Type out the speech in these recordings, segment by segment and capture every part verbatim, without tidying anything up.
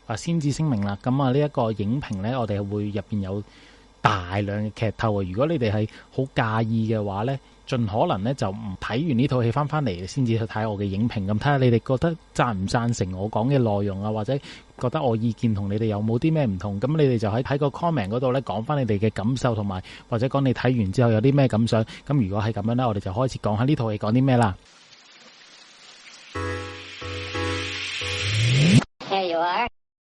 啊先至聲明啦。咁啊呢一個影評咧，我哋會入邊有大量嘅劇透啊！如果你哋係好介意嘅話咧，盡可能咧就唔睇完呢套戲翻翻嚟先至去睇我嘅影評，咁睇下你哋覺得贊唔贊成我講嘅內容啊，或者覺得我意見同你哋有冇啲咩唔同，咁你哋就喺喺個 comment 嗰度咧講翻你哋嘅感受，同埋或者講你睇完之後有啲咩感想。咁如果係咁樣咧，我哋就開始講下呢套戲講啲咩啦。 There you are.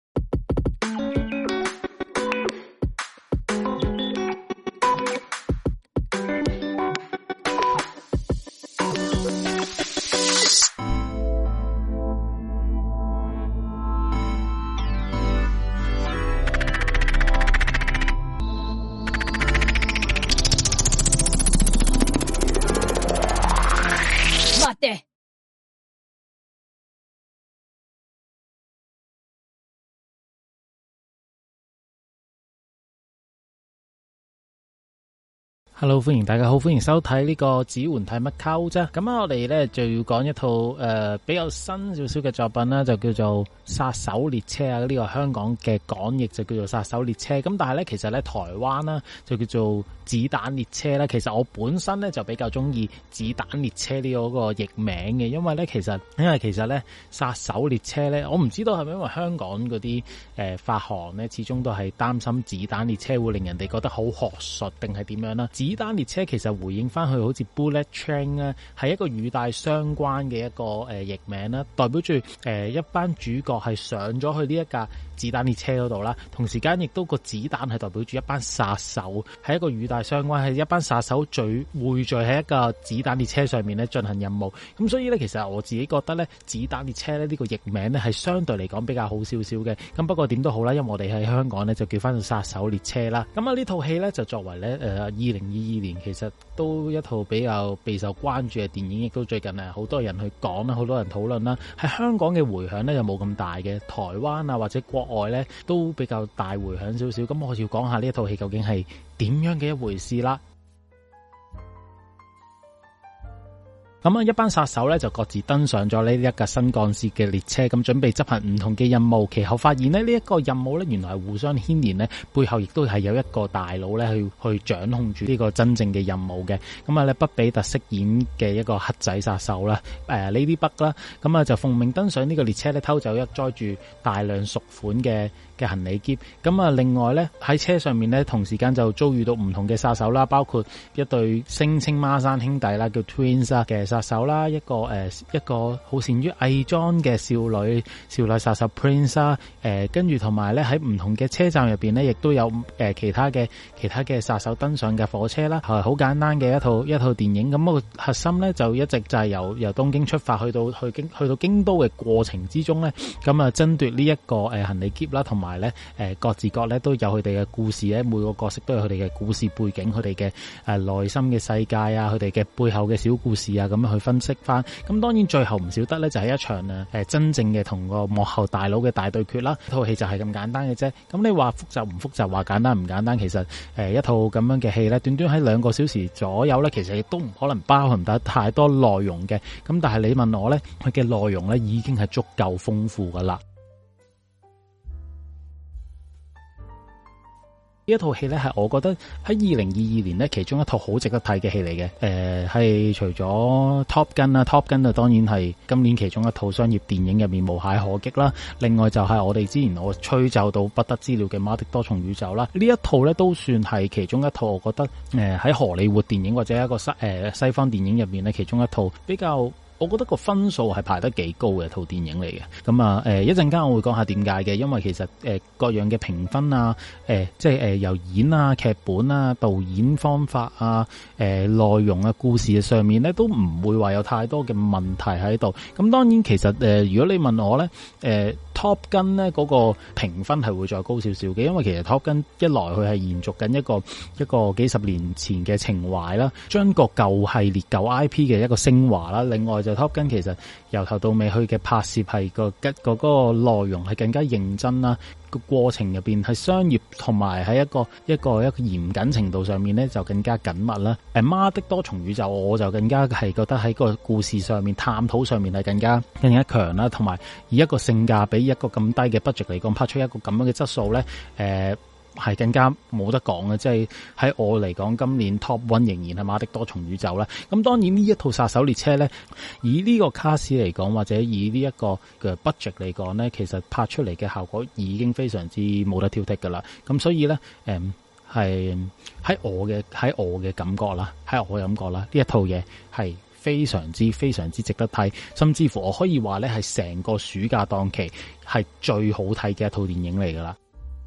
Hello， 歡迎大家好，歡迎收睇呢個指環睇乜溝啫。咁啊，我哋咧就要講一套誒、呃、比較新少少嘅作品啦，就叫做《殺手列車》啊。呢、這個香港嘅港譯就叫做《殺手列車》。咁但係咧，其實咧台灣啦就叫做《子彈列車》啦。其實我本身咧就比較中意《子彈列車》呢個個譯名嘅，因為咧其實因為其實咧《殺手列車》咧，我唔知道係咪因為香港嗰啲誒發行咧，始終都係擔心《子彈列車》會令人哋覺得好學術定係點樣啦。子彈列車其實回應翻去好似 Bullet Train 咧，係一個語帶相關嘅一個誒譯名啦，代表住誒一班主角係上咗去呢一架子彈列車嗰度啦，同時間亦都個子彈係代表住一班殺手，係一個語帶相關，係一班殺手聚匯聚喺一個子彈列車上面咧進行任務。咁所以咧，其實我自己覺得咧，子彈列車咧呢個譯名咧係相對嚟講比較好少少嘅。咁不過點都好啦，因為我哋喺香港咧就叫翻做殺手列車啦。咁啊呢套戲咧就作為咧誒二零二二年其實都一套比較備受關注嘅電影，亦都最近誒好多人去講啦，好多人討論啦。喺香港嘅回響咧又冇咁大嘅，台灣啊或者國外咧都比較大回響少少。咁我要講下呢一套戲究竟係點樣嘅一回事啦。咁啊，一班殺手咧就各自登上咗呢一架新幹線嘅列車，咁準備執行唔同嘅任務。其後發現咧，呢一個任務咧原來係互相牽連咧，背後亦都係有一個大佬咧去去掌控住呢個真正嘅任務嘅。咁啊咧，畢比特飾演嘅一個黑仔殺手啦，誒呢啲北啦，咁啊就奉命登上呢個列車咧，偷走一載住大量贖款嘅嘅行李篋。咁啊，另外咧喺車上面咧，同時間就遭遇到唔同嘅殺手啦，包括一對聲稱孖生兄弟啦，叫 Twins 啊嘅殺手啦，一個誒、呃、一個好善於偽裝嘅少女少女殺手 Prince 啊，誒跟住同埋咧喺唔同嘅車站入邊咧，亦都有誒、呃、其他嘅其他嘅殺手登上嘅火車啦，係好簡單嘅一套一套電影。咁、那個核心咧就一直就係由由東京出發去到去京去到京都嘅過程之中咧，咁啊爭奪呢一個誒行李篋啦，同埋咧誒各自各咧都有佢哋嘅故事咧，每個角色都有佢哋嘅故事背景，佢哋嘅誒內心嘅世界啊，佢哋嘅背後嘅小故事啊，咁樣去分析翻。咁當然最後唔少得咧就係一場誒誒真正嘅同個幕後大佬嘅大對決啦。套戲就係咁簡單嘅啫。咁你話複雜唔複雜，話簡單唔簡單，其實誒一套咁樣嘅戲咧，短短喺兩個小時左右咧，其實亦都唔可能包含得太多內容嘅。咁但係你問我咧，佢嘅內容咧已經係足夠豐富噶啦。呢一套戲咧係我覺得喺二零二二年咧其中一套好值得睇嘅戲嚟嘅。誒、呃、係除咗 Top Gun 啦 Top Gun 啊當然係今年其中一套商業電影入面無懈可擊啦。另外就係我哋之前我吹奏到不得之了嘅媽的多重宇宙啦。呢一套咧都算係其中一套我覺得誒喺、呃、荷里活電影或者一個西誒、呃、西方電影入面咧其中一套比較。我覺得個分數係排得幾高嘅套電影嚟嘅。咁啊誒一陣間我會講下點解嘅，因為其實誒、呃、各樣嘅評分啊誒、呃、即係誒、呃、由演啊劇本啊導演方法啊誒、呃、內容啊故事上面咧都唔會話有太多嘅問題喺度。咁當然其實誒、呃、如果你問我咧誒、呃、Top Gun 咧嗰個評分係會再高少少嘅，因為其實 Top Gun 一來佢係延續緊一個一個幾十年前嘅情懷啦，將個舊系列舊 I P 嘅一個升華啦，另外就 Top Gun 其實由頭到尾去嘅拍攝係個吉個嗰個內容係更加認真啦，個過程入邊係商業同埋喺一個一個一個嚴謹程度上面咧就更加緊密啦。誒媽的多重宇宙我就更加係覺得喺個故事上面探討上面係更加更加強啦，同埋以一個性價比一個咁低嘅 budget 嚟講，拍出一個咁樣嘅質素咧，誒、呃。係更加冇得講嘅，即係喺我嚟講，今年 Top One 仍然係馬的多重宇宙啦。咁當然呢一套殺手列車咧，以呢個卡士嚟講，或者以呢一個嘅 budget 嚟講咧，其實拍出嚟嘅效果已經非常之冇得挑剔噶啦。咁所以咧，誒係喺我嘅喺我嘅感覺啦，喺我嘅感覺啦，呢一套嘢係非常之非常之值得睇，甚至乎我可以話咧係成個暑假檔期係最好睇嘅一套電影嚟噶啦。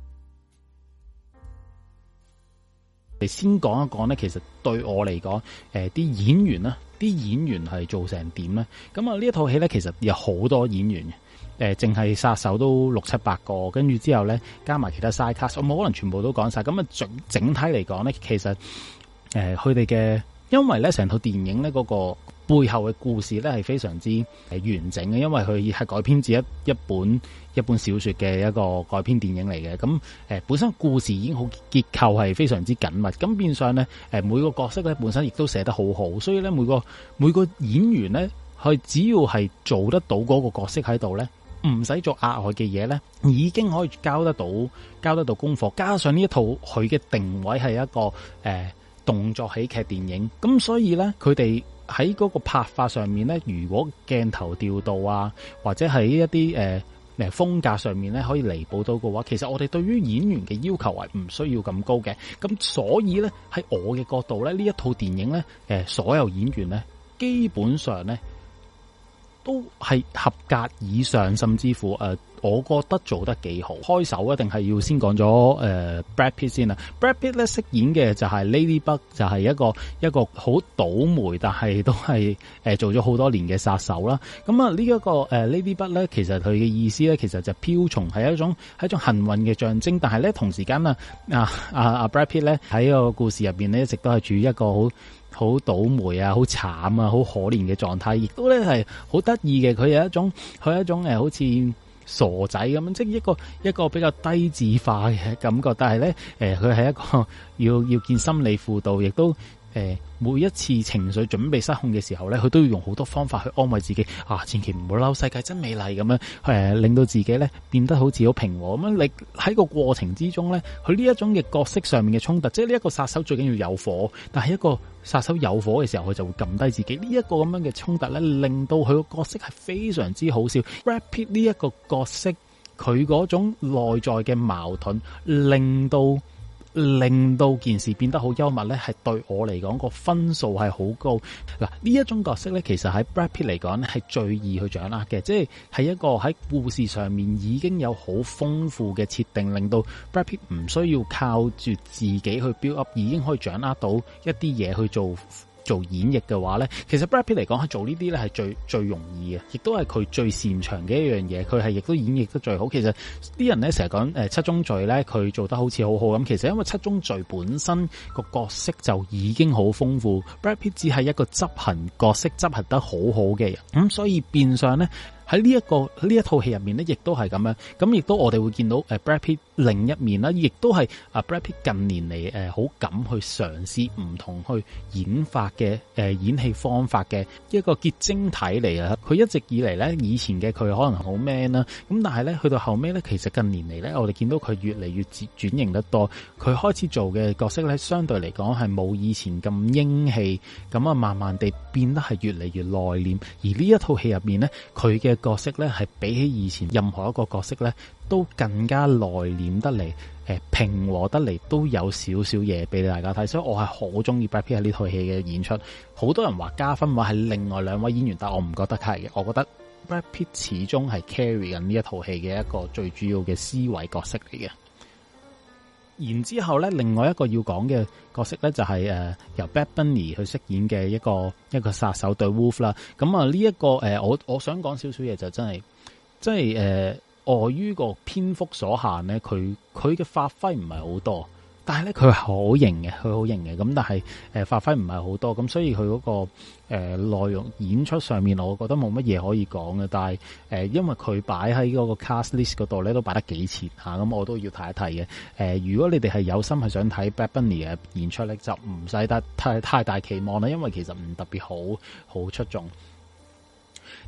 嚟先講一講咧，其實對我嚟講，誒、呃、啲演員啦，啲演員係做成點咧？咁啊呢一套戲咧，其實有好多演員嘅，誒淨係殺手都六七百個，跟住之後咧加埋其他 side cast，我冇可能全部都講晒。咁啊整整體嚟講咧，其實誒佢哋嘅，因為咧成套電影咧嗰、那個背後嘅故事咧係非常之誒完整嘅，因為佢係改編自一一本一本小說嘅一個改編電影嚟嘅。咁誒本身故事已經好結構係非常之緊密，咁變相咧誒每個角色咧本身亦都寫得好好，所以咧每個每個演員咧佢只要係做得到嗰個角色喺度咧，唔使做額外嘅嘢咧，已經可以交得到交得到功課。加上呢一套佢嘅定位係一個誒、呃、動作喜劇電影，咁所以咧佢哋喺嗰個拍法上面咧，如果鏡頭調度啊，或者喺一啲誒誒風格上面咧，可以彌補到嘅話，其實我哋對於演員嘅要求係唔需要咁高嘅。咁所以咧喺我嘅角度咧，呢一套電影咧，誒所有演員咧，基本上咧都係合格以上，甚至乎誒、呃，我覺得做得幾好。開首一定係要先講咗誒 Brad Pitt 先啦。Brad Pitt 咧飾演嘅就係 Ladybug，就係一個一個好倒霉，但係都係誒、呃、做咗好多年嘅殺手啦。咁啊呢一個誒、呃、Ladybug 咧，其實佢嘅意思咧，其實就瓢蟲係一種係一種幸運嘅象徵，但係咧同時間啊啊啊啊 Brad Pitt 咧喺個故事入邊咧，一直都係處於一個好好倒霉啊，好慘啊，好可憐嘅狀態，亦都咧係好得意嘅。佢有一種佢有一種誒，好似傻仔咁樣，即係一個一個比較低智化嘅感覺。但係咧，誒佢係一個要要見心理輔導，亦都誒、呃、每一次情緒準備失控嘅時候咧，佢都要用好多方法去安慰自己啊，千祈唔好嬲，世界真美麗咁樣，誒、呃、令到自己咧變得好似好平和咁樣。你喺個過程之中咧，佢呢一種嘅角色上面嘅衝突，即係呢一個殺手最緊要有火，但係一個殺手有火嘅時候，佢就會撳低自己。呢一個咁樣嘅衝突咧，令到佢個角色係非常之好笑。Brad Pitt 呢一個角色，佢嗰種內在嘅矛盾，令到令到件事變得好幽默咧，係對我嚟講個分數係好高。嗱，呢一種角色咧，其實喺 Brad Pitt 嚟講咧係最易去掌握嘅，即係係一個喺故事上面已經有好豐富嘅設定，令到 Brad Pitt 唔需要靠住自己去 build up，已經可以掌握到一啲嘢去做做演繹嘅話咧，其實 Brad Pitt 嚟講係做呢啲咧係最最容易嘅，亦都係佢最擅長嘅一樣嘢。佢係亦都演繹得最好。其實啲人咧成日講誒七宗罪咧，佢做得好似好好咁。其實因為七宗罪本身個角色就已經好豐富，Brad Pitt 只係一個執行角色執行得好好嘅人，咁、嗯、所以變相咧喺呢一個呢一套戲入面咧，亦都係咁樣。咁亦都我哋會見到誒 Brad Pitt 另一面啦，亦都係啊 Brad Pitt 近年嚟誒好敢去嘗試唔同去演法嘅誒、呃、演戲方法嘅一個結晶體嚟啊！佢一直以嚟咧，以前嘅佢可能好 man 啦，咁但係咧去到後尾咧，其實近年嚟咧，我哋見到佢越嚟越轉型得多。佢開始做嘅角色咧，相對嚟講係冇以前咁英氣，咁啊慢慢地變得係越嚟越內斂。而呢一套戲入面咧，佢嘅角色咧係比起以前任何一個角色咧都更加內斂得嚟，誒、呃、平和得嚟，都有少少嘢俾大家睇，所以我係好中意 Brad Pitt 喺呢套戲嘅演出。好多人話加分話係另外兩位演員，但我唔覺得係嘅，我覺得 Brad Pitt 始終係 carry 緊呢一套戲嘅一個最主要嘅 C 位角色嚟嘅。然之後咧，另外一個要講嘅角色咧就係、是、誒、呃、由 Bad Bunny 去飾演嘅一個一個殺手 The Wolf 啦。咁啊呢一個誒、呃、我我想講少少嘢就真係，即係誒礙於個篇幅所限咧，佢佢嘅發揮唔係好多。但係咧，佢係好型嘅，佢好型嘅。咁但係誒、呃、發揮唔係好多，咁所以佢嗰、那個誒、呃、內容演出上面，我覺得冇乜嘢可以講嘅。但係誒、呃，因為佢擺喺嗰個 cast list 嗰度咧，都擺得幾前嚇，咁、啊、我都要睇一睇嘅。誒、呃，如果你哋係有心係想睇 Bad Bunny 嘅演出咧，就唔使得太太大期望啦，因為其實唔特別好好出眾。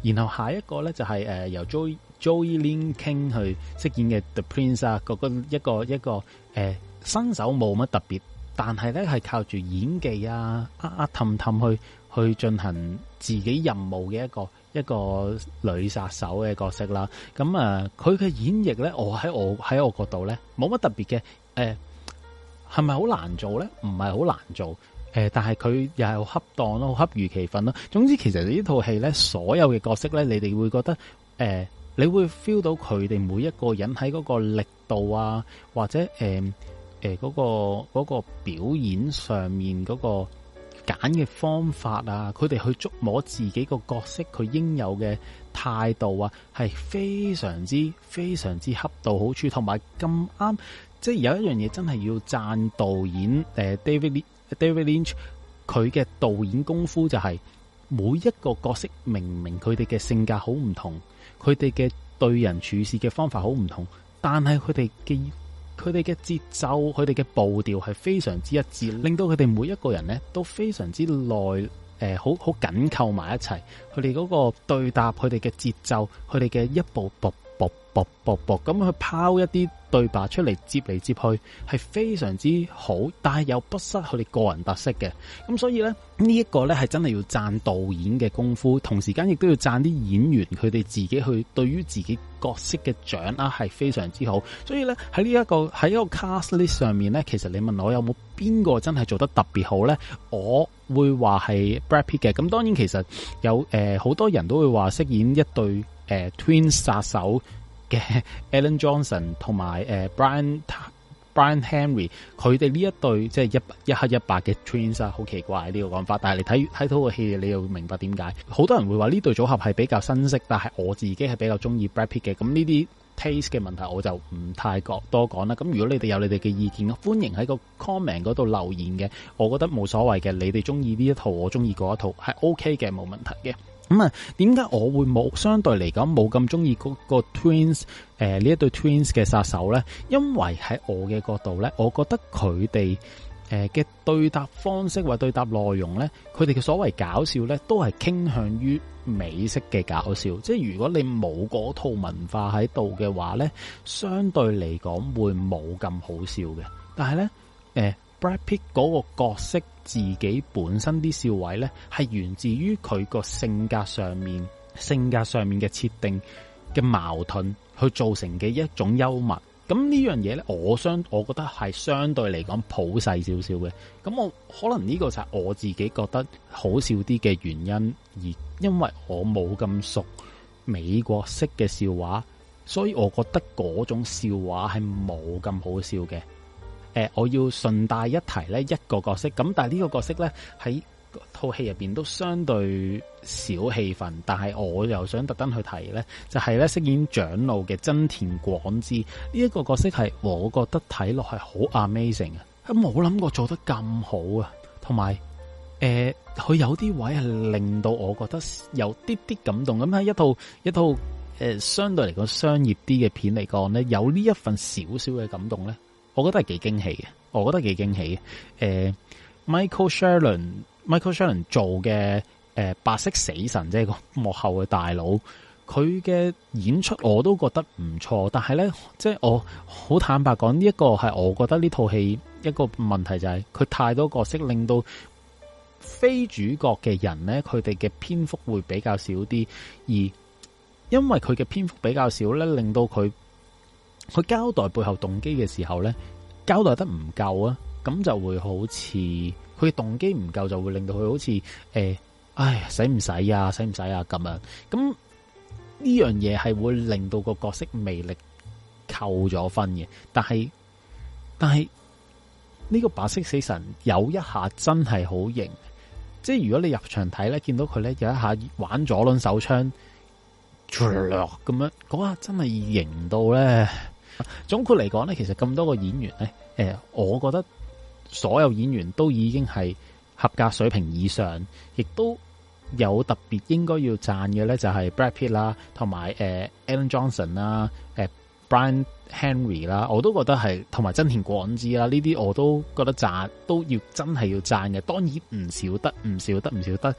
然後下一個咧就係、是、誒、呃、由 Joey Joey Lin King 去飾演嘅 The Prince 啊，嗰個一個一個誒、呃、新手冇乜特別，但係咧係靠住演技啊啊啊氹氹去去進行自己任務嘅一個一個女殺手嘅角色啦。咁啊，佢、呃、嘅演繹咧，我喺我喺我角度咧冇乜特別嘅。誒係咪好難做咧？唔係好難做。誒、呃，但係佢又係好恰當咯，好恰如其分咯。總之，其實呢套戲咧，所有嘅角色咧，你哋會覺得誒、呃，你會 feel 到佢哋每一個人喺嗰個力度啊，或者誒誒嗰個嗰個表演上面嗰個揀嘅方法啊，佢哋去捉摸自己個角色佢應有嘅態度啊，係非常之非常之恰到好處，同埋咁啱。即係有一樣嘢真係要讚導演誒 David David Lynch 佢嘅導演功夫，就係每一個角色明明佢哋嘅性格好唔同，佢哋嘅對人處事嘅方法好唔同，但係佢哋嘅佢哋嘅節奏、佢哋嘅步調係非常之一致，令到佢哋每一個人咧都非常之耐誒好好緊扣埋一齊。佢哋嗰個對答、佢哋嘅節奏、佢哋嘅一步步步步步步咁去拋一啲對白出嚟，接嚟接去係非常之好，但係又不失佢哋個人特色嘅。咁所以咧呢一個咧係真係要讚導演嘅功夫，同時間亦都要讚啲演員佢哋自己去對於自己角色嘅掌握係非常之好。所以咧喺呢一個喺一個 cast list 上面咧，其實你問我有冇邊個真係做得特別好咧，我會話係 Brad Pitt 嘅。咁當然其實有誒好、呃、多人都會話飾演一對誒、呃、Twins 殺手嘅 Ellen Johnson 同埋誒 Brian Brian Henry， 佢哋呢一對即係一一黑一白嘅 Twins 啊，好奇怪呢個講法，但係你睇睇到個戲，你又會明白點解。好多人會話呢對組合係比較新式，但係我自己係比較中意 Brad Pitt 嘅。咁呢啲 taste 嘅問題我就唔太多講啦。咁如果你哋有你哋嘅意見，歡迎喺個 comment 嗰度留言嘅。我覺得冇所謂嘅，你哋中意呢一套，我中意嗰一套係 OK 嘅，冇問題嘅。咁啊，點解我會冇相對嚟講冇咁中意嗰個 Twins 誒呢一對 Twins 嘅殺手咧？因為喺我嘅角度咧，我覺得佢哋誒嘅對答方式或對答內容咧，佢哋嘅所謂搞笑咧，都係傾向於美式嘅搞笑。即係如果你冇嗰套文化喺度嘅話咧，相對嚟講會冇咁好笑嘅。但係咧，誒、呃、Brad Pitt 嗰個角色自己本身啲笑位咧，係源自於佢個性格上面、性格上面嘅設定嘅矛盾，去造成嘅一種幽默。咁呢樣嘢咧，我相我覺得係相對嚟講普世少少嘅。咁我可能呢個就係我自己覺得好笑啲嘅原因，而因為我冇咁熟美國式嘅笑話，所以我覺得嗰種笑話係冇咁好笑嘅。誒、呃，我要順帶一提咧一個角色，咁但係呢個角色咧喺套戲入邊都相對少戲份，但係我又想特登去提咧，就係咧飾演長老嘅真田廣之呢一個角色係我覺得睇落係好 amazing 啊，冇諗過做得咁好啊，同埋誒佢有啲位係令到我覺得有啲啲感動。咁喺一套一套誒、呃、相對嚟講商業啲嘅片嚟講咧，有呢一份少少嘅感動咧，我覺得係幾驚喜嘅，我覺得幾驚喜嘅。誒、呃、Michael Shannon，Michael Shannon 做嘅誒、呃、白色死神，即係個幕後嘅大佬，佢嘅演出我都覺得唔錯。但係咧，即係我好坦白講，呢、這、一個係我覺得呢套戲一個問題就係、是、佢太多角色，令到非主角嘅人咧，佢哋嘅篇幅會比較少啲，而因為佢嘅篇幅比較少咧，令到佢。佢交代背後動機嘅時候咧，交代得唔夠啊，咁就會好似佢嘅動機唔夠，就會令到佢好似誒、欸，唉，使唔使啊，使唔使啊咁樣。咁呢樣嘢係會令到個角色魅力扣咗分嘅。但係但係呢個白色死神有一下真係好型，即係如果你入場睇咧，見到佢咧有一下玩左輪手槍，咁樣嗰下真係型到咧。總括嚟講咧，其實咁多個演員咧，誒、呃，我覺得所有演員都已經係合格水平以上，亦都有特別應該要讚嘅咧，就係 Brad Pitt 啦，同埋誒 Ellen Johnson 啦，誒 Brian Henry 啦，我都覺得係，同埋真田廣之啦，呢啲我都覺得讚，都要真係要讚嘅。當然唔少得，唔少得，唔少得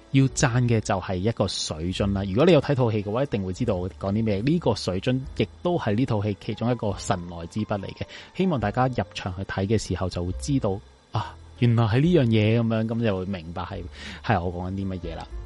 要讚嘅就係一個水樽啦。如果你有睇套戲嘅話，一定會知道我講啲咩。呢個水樽亦都係呢套戲其中一個神來之筆嚟嘅。希望大家入場去睇嘅時候就會知道啊，原來係呢樣嘢咁樣，咁就會明白係係我講緊啲乜嘢啦。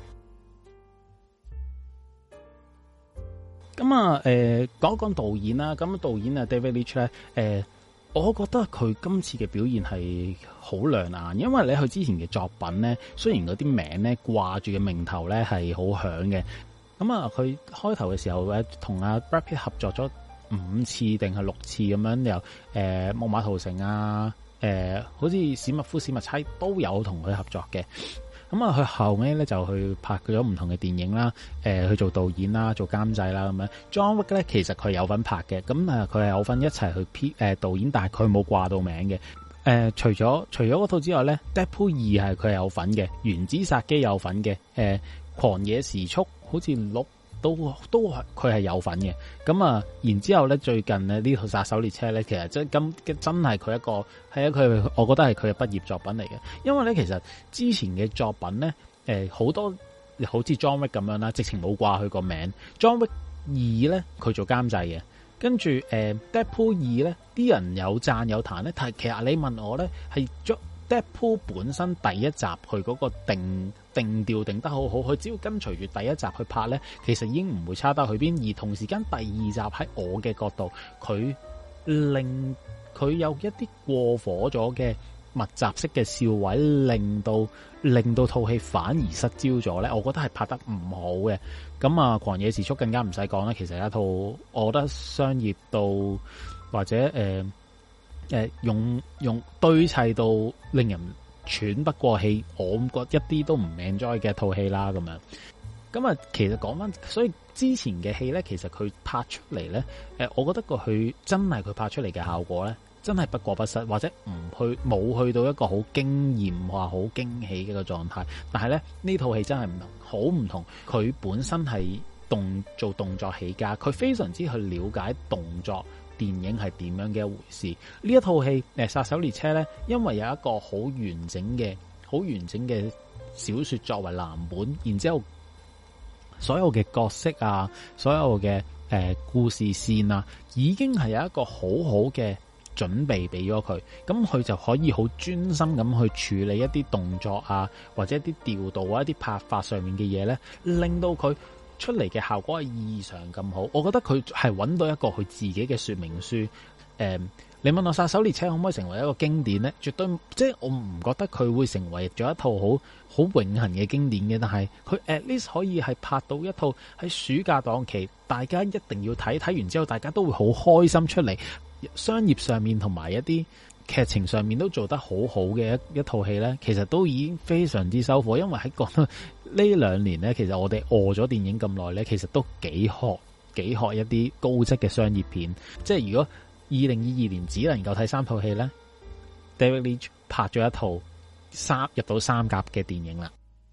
咁啊，誒、呃，講一講導演啦。咁導演啊，David Leitch 咧，誒、呃，我覺得佢今次嘅表現係好亮眼，因為你佢之前嘅作品咧，雖然嗰啲名咧掛住嘅名頭咧係好響嘅。咁啊，佢開頭嘅時候咧，同阿 Brad Pitt 合作咗五次定係六次咁樣，又誒《木馬屠城》啊，誒、呃，好似史密夫史密差都有同佢合作嘅。咁啊，佢後尾咧就去拍咗唔同嘅電影啦，誒、呃，去做導演啦，做監製啦咁樣。John Wick 咧，其實佢有份拍嘅，咁啊，佢係有份一齊去編誒導演，但係佢冇掛到名嘅。誒、呃，除咗除咗嗰套之外咧，《Deadpool 二》係佢係有份嘅，《原子殺機》有份嘅，誒、呃，《狂野時速》好似六都都佢係有份嘅。咁啊，然之後咧，最近咧呢套《殺手列車》咧，其實真今真係佢一個係一佢，我覺得係佢嘅畢業作品嚟嘅。因為咧，其實之前嘅作品咧，誒、呃、好多好似 John Wick 咁樣啦，直情冇掛佢個名。John Wick 二咧，佢做監製嘅，跟住誒、呃、Deadpool 二咧，啲人有讚有彈咧，但係其實你問我咧，係 Deadpool 本身第一集佢嗰個定定調定得好好，佢只要跟隨住第一集去拍咧，其實已經唔會差得去邊。而同時間第二集喺我嘅角度，佢令佢有一啲過火咗嘅密集式嘅笑位，令到令到套戲反而失焦咗咧。我覺得係拍得唔好嘅。咁啊，狂野時速更加唔使講啦。其實係一套我覺得商業到或者誒。呃誒、呃，用用堆砌到令人喘不過氣，我覺得一啲都唔 enjoy 嘅一套戲啦，咁樣。咁啊，其實講翻，所以之前嘅戲咧，其實佢拍出嚟咧，誒、呃，我覺得個佢真係佢拍出嚟嘅效果咧，真係不過不失，或者唔去冇去到一個好驚艷或好驚喜嘅一個狀態。但係咧，呢套戲真係唔同，好唔同。佢本身係動做動作起家，佢非常之去了解動作電影係點樣嘅一回事。呢一套戲誒《殺手列車》咧，因為有一個好完整嘅、好完整嘅小說作為藍本，然之後所有嘅角色啊，所有嘅誒、呃、故事線啊，已經係有一個好好嘅準備俾咗佢，咁佢就可以好專心咁去處理一啲動作啊，或者一啲調度啊、一啲拍法上面嘅嘢咧，令到佢出嚟嘅效果係異常咁好。我覺得佢係揾到一個佢自己嘅說明書。誒、嗯，你問我殺手列車可唔可以成為一個經典咧？絕對，即係我唔覺得佢會成為咗一套好好永恆嘅經典嘅。但係佢 at least 可以係拍到一套喺暑假檔期大家一定要睇，睇完之後大家都會好開心出嚟，商業上面同埋一啲劇情上面都做得好好嘅一一套戲咧，其實都已經非常之收貨。因為喺講到呢兩年咧，其實我哋餓咗電影咁耐咧，其實都幾渴幾渴一啲高質嘅商業片。即係如果二零二二年只能夠睇三套戲咧， David Leitch 拍咗一套三入到三甲嘅電影啦。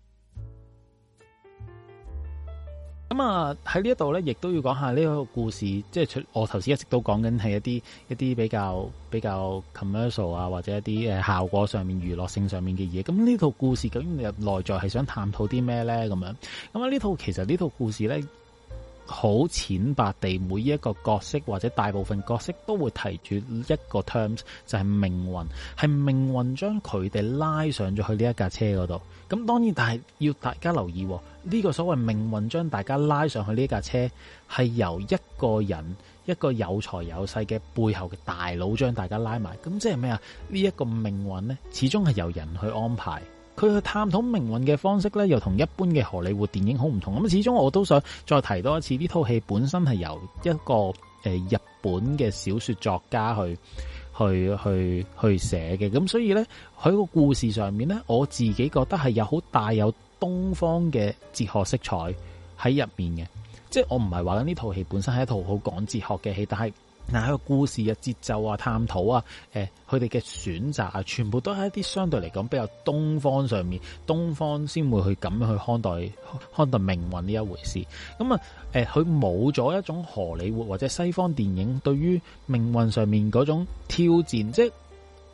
咁啊喺呢一度咧，亦都要講下呢個故事，即係我頭先一直都講緊係一啲一啲比較比較 commercial 啊，或者一啲誒效果上面、娛樂性上面嘅嘢。咁呢套故事究竟入內在係想探討啲咩咧？咁樣咁啊呢套其實呢套故事咧，好淺白地，每一個角色或者大部分角色都會提住一個 terms， 就係命運，係命運將佢哋拉上咗去呢一架車嗰度。咁當然，但係要大家留意，呢個所謂命運將大家拉上去呢架車，係由一個人一個有財有勢嘅背後嘅大佬將大家拉埋。咁即係咩啊？呢一個命運呢，始終係由人去安排。佢去探討命運嘅方式咧，又同一般嘅荷里活電影好唔同。咁始終我都想再提多一次，呢套戲本身係由一個誒、呃、日本嘅小說作家去去去去寫嘅。咁所以咧，喺個故事上面咧，我自己覺得係有好大有東方嘅哲學色彩喺入面嘅。即係我唔係話緊呢套戲本身係一套好講哲學嘅戲，但係嗱喺個故事嘅節奏啊、探討啊、誒佢哋嘅選擇啊，全部都係一啲相對嚟講比較東方上面，東方先會去咁樣去看待看待命運呢一回事。咁啊誒，佢冇咗一種荷里活或者西方電影對於命運上面嗰種挑戰，即係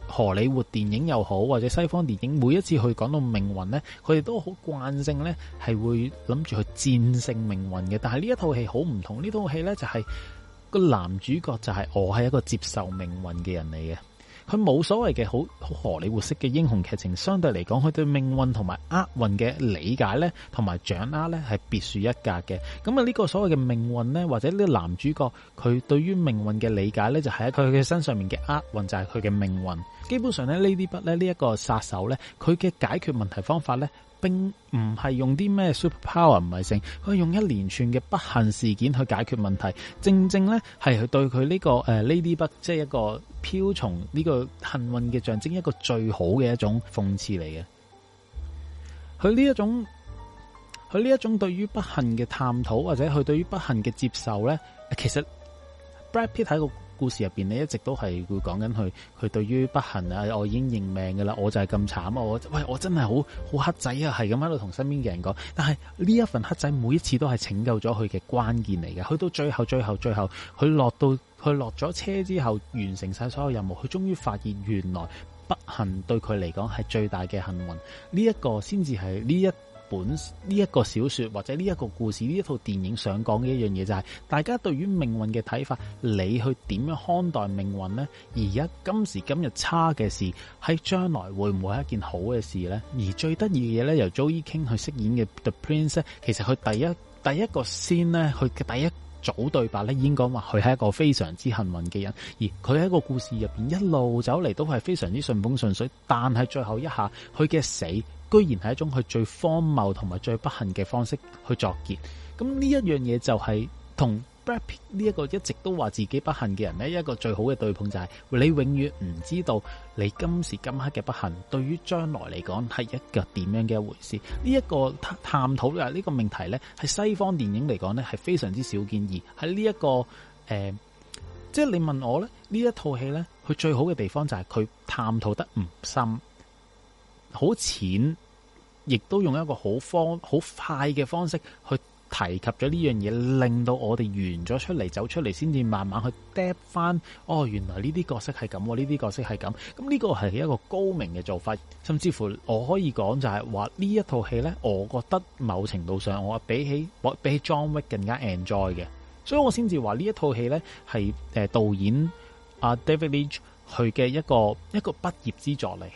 荷里活電影又好，或者西方電影，每一次去講到命運咧，佢哋都好慣性咧係會諗住去戰勝命運嘅。但係呢一套戲好唔同，呢套戲咧就係、是、個男主角就係我係一個接受命運嘅人嚟嘅。佢冇所謂嘅好好荷里活式嘅英雄劇情，相對嚟講，佢對命運同埋厄運嘅理解咧，同埋掌握咧係別樹一格嘅。咁啊，呢個所謂嘅命運咧，或者呢個男主角佢對於命運嘅理解咧，就係喺佢嘅身上面嘅厄運就係佢嘅命運。基本上咧，呢啲筆咧，呢一個殺手咧，佢嘅解決問題方法咧，並唔係用啲咩 super power， 唔係性，佢用一連串嘅不幸事件去解決問題。正正咧係佢對佢呢、這個誒呢啲筆，即係一個瓢蟲呢個幸運嘅象徵，一個最好嘅一種諷刺嚟嘅。佢呢一種，佢呢一種對於不幸嘅探討，或者佢對於不幸嘅接受咧，其實 Brad Pitt 喺個故事入邊咧，一直都係會講緊佢，佢對於不幸啊，我已經認命噶啦，我就係咁慘，我喂我真係好好黑仔啊，係咁喺度同身邊嘅人講。但係呢一份黑仔每一次都係拯救咗佢嘅關鍵嚟嘅。去到最後最後最後，佢落到佢落咗車之後，完成晒所有任務，佢終於發現原來不幸對佢嚟講係最大嘅幸運。呢、這、一個先至係呢一本呢一個小說或者呢一個故事呢一套電影想講嘅一樣嘢，就係大家對於命運嘅睇法，你去點樣看待命運呢？而家今時今日差嘅事，喺將來會唔會係一件好嘅事呢？而最得意嘅嘢咧，由 Joey King 去飾演嘅 The Prince 咧，其實佢第一第一個 scene 咧，佢嘅第一組對白咧，已經講話佢係一個非常之幸運嘅人，而佢喺個故事入邊一路走嚟都係非常之順風順水，但係最後一下佢嘅死，居然係一種佢最荒謬同埋最不幸嘅方式去作結。咁呢一樣嘢就係同 Brad Pitt 呢一個一直都話自己不幸嘅人呢，一個最好嘅對碰，就係你永遠唔知道你今時今刻嘅不幸對於將來嚟講係一個點樣嘅一回事。呢一個探討啊，呢個命題呢，喺西方電影嚟講呢係非常之少見，而喺呢一個誒、呃，即係你問我呢，呢一套戲呢，佢最好嘅地方就係佢探討得唔深，好淺，亦都用一個好方好快嘅方式去提及咗呢樣嘢，令到我哋完咗出嚟，走出嚟，先至慢慢去 depth 翻。哦，原來呢啲角色係咁，呢啲角色係咁。咁呢個係一個高明嘅做法，甚至乎我可以講就係話呢一套戲呢，我覺得某程度上我比起比起 John Wick 更加 enjoy 嘅，所以我先至話呢一套戲呢係誒導演阿 David Leitch 佢嘅一個一個畢業之作嚟。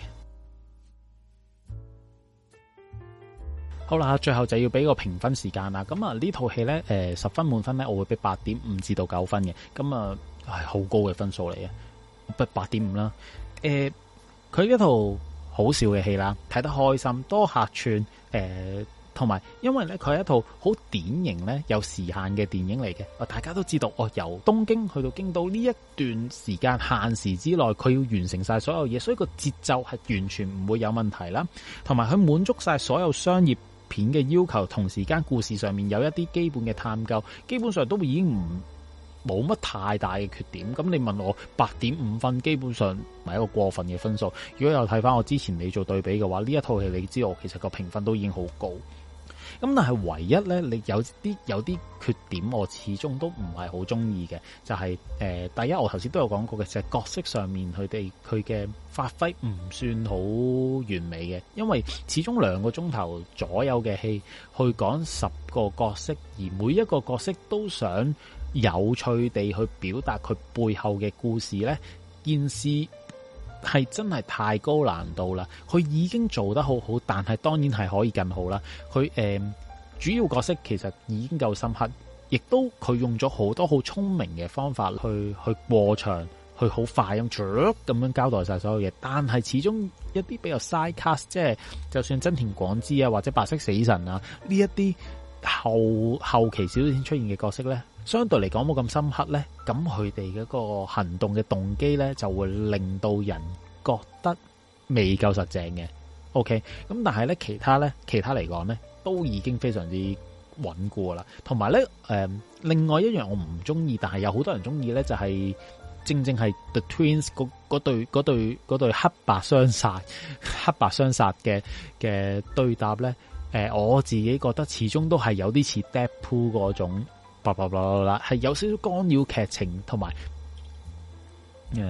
好啦，最後就要俾個評分時間啦。咁啊，呢套戲咧，誒，十分滿分咧，我會俾八點五至到九分嘅。咁啊，係好高嘅分數嚟嘅，不八點五啦。誒，佢一套好笑嘅戲啦，睇得開心，多客串，誒、呃，同埋因為咧，佢係一套好典型咧有時限嘅電影嚟嘅。啊，大家都知道，哦，由東京去到京都呢一段時間限時之內，佢要完成晒所有嘢，所以個節奏係完全唔會有問題啦。同埋佢滿足晒所有商業片嘅要求，同時間故事上面有一啲基本嘅探究，基本上都已經唔冇乜太大嘅缺點。咁你問我八點五分，基本上唔係一個過分嘅分數。如果有睇翻我之前你做對比嘅話，呢一套戲你知道我其實個評分都已經好高。咁但係唯一咧，你有啲有啲缺點，我始終都唔係好中意嘅，就係、是、誒、呃，第一我頭先都有講過嘅，就係、是、角色上面佢哋佢嘅發揮唔算好完美嘅，因為始終兩個鐘頭左右嘅戲去講十個角色，而每一個角色都想有趣地去表達佢背後嘅故事咧，件事係真係太高難度啦！佢已經做得好好，但係當然係可以更好啦。佢誒、呃、主要角色其實已經夠深刻，亦都佢用咗好多好聰明嘅方法去去過場，去好快咁咁樣交代晒所有嘢。但係始終一啲比較 side cast， 即係就算真田廣之啊或者白色死神啊呢一啲後後期少少先出現嘅角色咧，相對嚟講冇咁深刻咧，咁佢哋嗰個行動嘅動機咧就會令到人覺得未夠實淨嘅。OK，咁但係咧其他咧其他嚟講咧都已經非常之穩固啦。同埋咧誒，另外一樣我唔中意，但係有好多人中意咧，就係、是、正正係 The Twins 嗰嗰對嗰對嗰對黑白雙殺黑白雙殺嘅嘅對答咧。誒、呃，我自己覺得始終都係有啲似 Deadpool 嗰種，叭叭叭啦，係有少少干擾劇情，同埋誒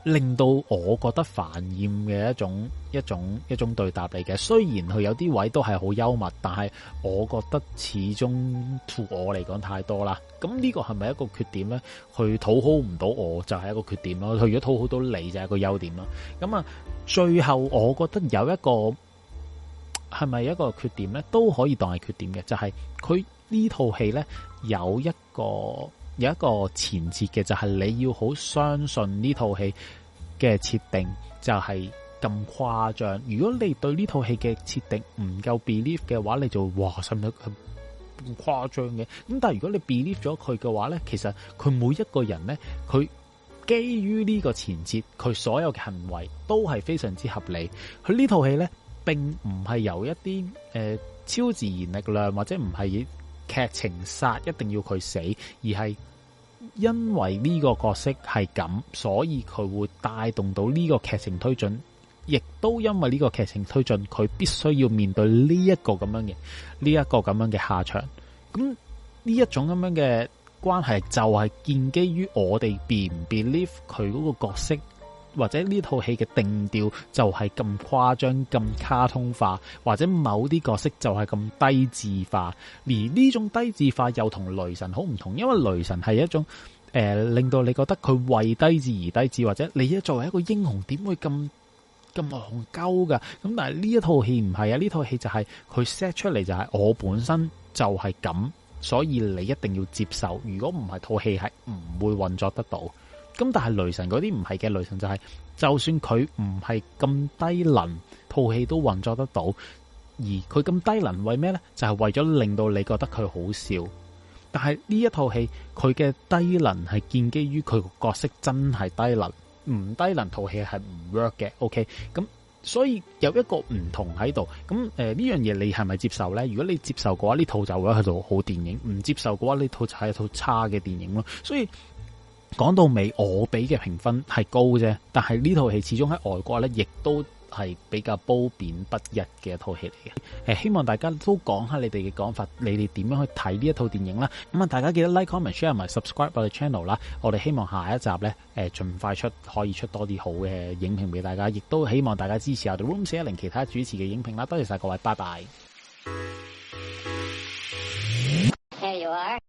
令到我覺得煩厭嘅一種一種一種對答嚟嘅。雖然佢有啲位都係好幽默，但係我覺得始終對我嚟講太多啦。咁呢個係咪一個缺點咧？去討好唔到我就係一個缺點咯。佢如果討好到你就係一個優點咯。咁啊，最後我覺得有一個係咪一個缺點咧，都可以當係缺點嘅，就係佢呢套戲咧有一個。有一個前設嘅，就係你要好相信呢套戲嘅設定就係咁誇張。如果你對呢套戲嘅設定唔夠 believe 嘅話，你就哇使唔使咁誇張嘅？咁但係如果你 believe 咗佢嘅話咧，其實佢每一個人咧，佢基於呢個前設，佢所有嘅行為都係非常之合理。佢呢套戲咧並唔係由一啲誒、呃、超自然力量或者唔係劇情殺一定要佢死，而係因為呢個角色係咁，所以佢會帶動到呢個劇情推進，亦都因為呢個劇情推進，佢必須要面對呢一個咁樣嘅呢一個咁樣嘅下場。咁呢一種咁樣嘅關係就係建基於我哋 be 唔 believe 佢嗰個角色。或者呢套戲嘅定調就係咁誇張、咁卡通化，或者某啲角色就係咁低智化。而呢種低智化又同雷神好唔同，因為雷神係一種誒、呃、令到你覺得佢為低智而低智，或者你一作為一個英雄點會咁咁戇鳩噶？咁但係呢一套戲唔係啊，呢套戲就係佢 set 出嚟就係我本身就係咁，所以你一定要接受。如果唔係，套戲係唔會運作得到。咁但係雷神嗰啲唔係嘅，雷神就係、是、就算佢唔係咁低能，套戲都運作得到。而佢咁低能為咩咧？就係、是、為咗令到你覺得佢好笑。但係呢一套戲佢嘅低能係建基於佢個角色真係低能，唔低能套戲係唔 work 嘅。OK，咁所以有一個唔同喺度。咁誒呢樣嘢你係咪接受咧？如果你接受嘅話，呢套就會係套好電影；唔接受嘅話，呢套就係一套差嘅電影咯。所以。講到尾，我俾嘅評分係高啫，但係呢套戲始終喺外國咧，亦都係比較褒貶不一嘅一套戲嚟嘅。誒，希望大家都講下你哋嘅講法，你哋點樣去睇呢一套電影啦？咁啊，大家記得 like、comment、share 埋 subscribe 我哋 channel 啦。我哋希望下一集咧，誒，盡快出可以出多啲好嘅影評俾大家，亦都希望大家支持我哋 Room 四一零其他主持嘅影評啦。多謝晒各位，拜拜。There you are.